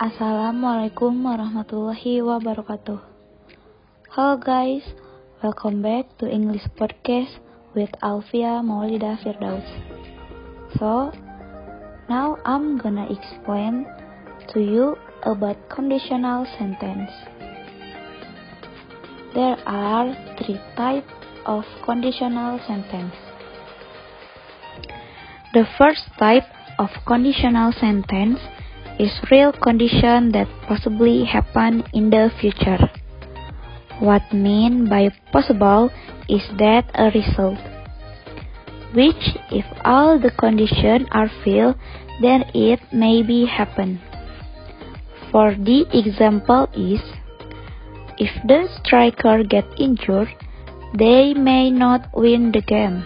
Assalamualaikum warahmatullahi wabarakatuh. Hello guys, welcome back to English Podcast with Alfia Maulida Firdaus. So, now I'm gonna explain to you about conditional sentence. There are 3 types of conditional sentence. The first type of conditional sentence is real condition that possibly happen in the future. What mean by possible is that a result, which if all the conditions are filled, then it may be happen. For the example is, if the striker get injured, they may not win the game.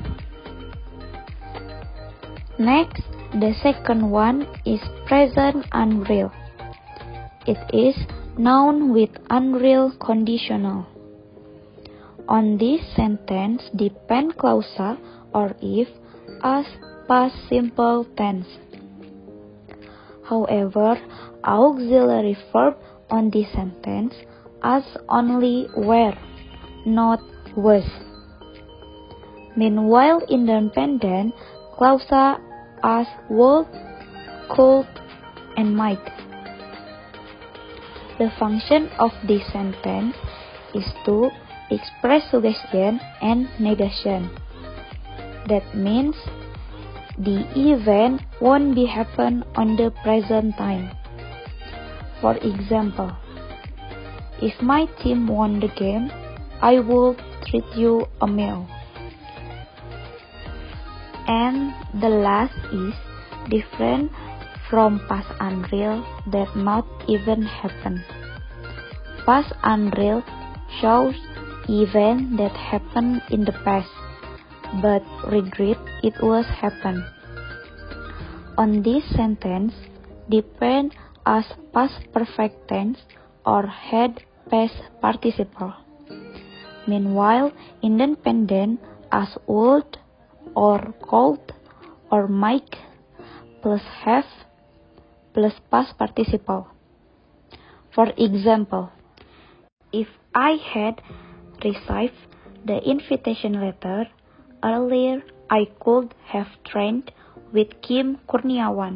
Next, the second one is present unreal. It is noun with unreal conditional. On this sentence depend clausa or if as past simple tense. However, auxiliary verb on this sentence as only were, not was. Meanwhile, independent clausa as would, could, and might. The function of this sentence is to express suggestion and negation. That means the event won't be happen on the present time. For example, if my team won the game, I will treat you a meal. And the last is different from past unreal that not even happen. Past unreal shows event that happened in the past, but regret it was happened. On this sentence, depend as past perfect tense or had past participle. Meanwhile, independent as would or could or might plus have plus past participle. For example, if I had received the invitation letter earlier, I could have trained with Kim Kurniawan.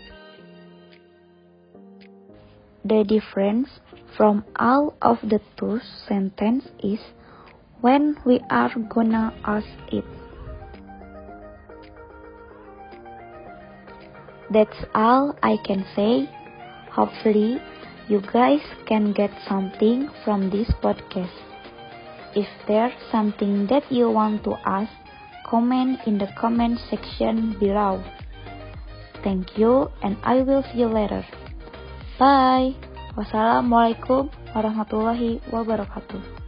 The difference from all of the two sentences is when we are gonna ask it. That's all I can say. Hopefully, you guys can get something from this podcast. If there's something that you want to ask, comment in the comment section below. Thank you and I will see you later. Bye. Wassalamualaikum warahmatullahi wabarakatuh.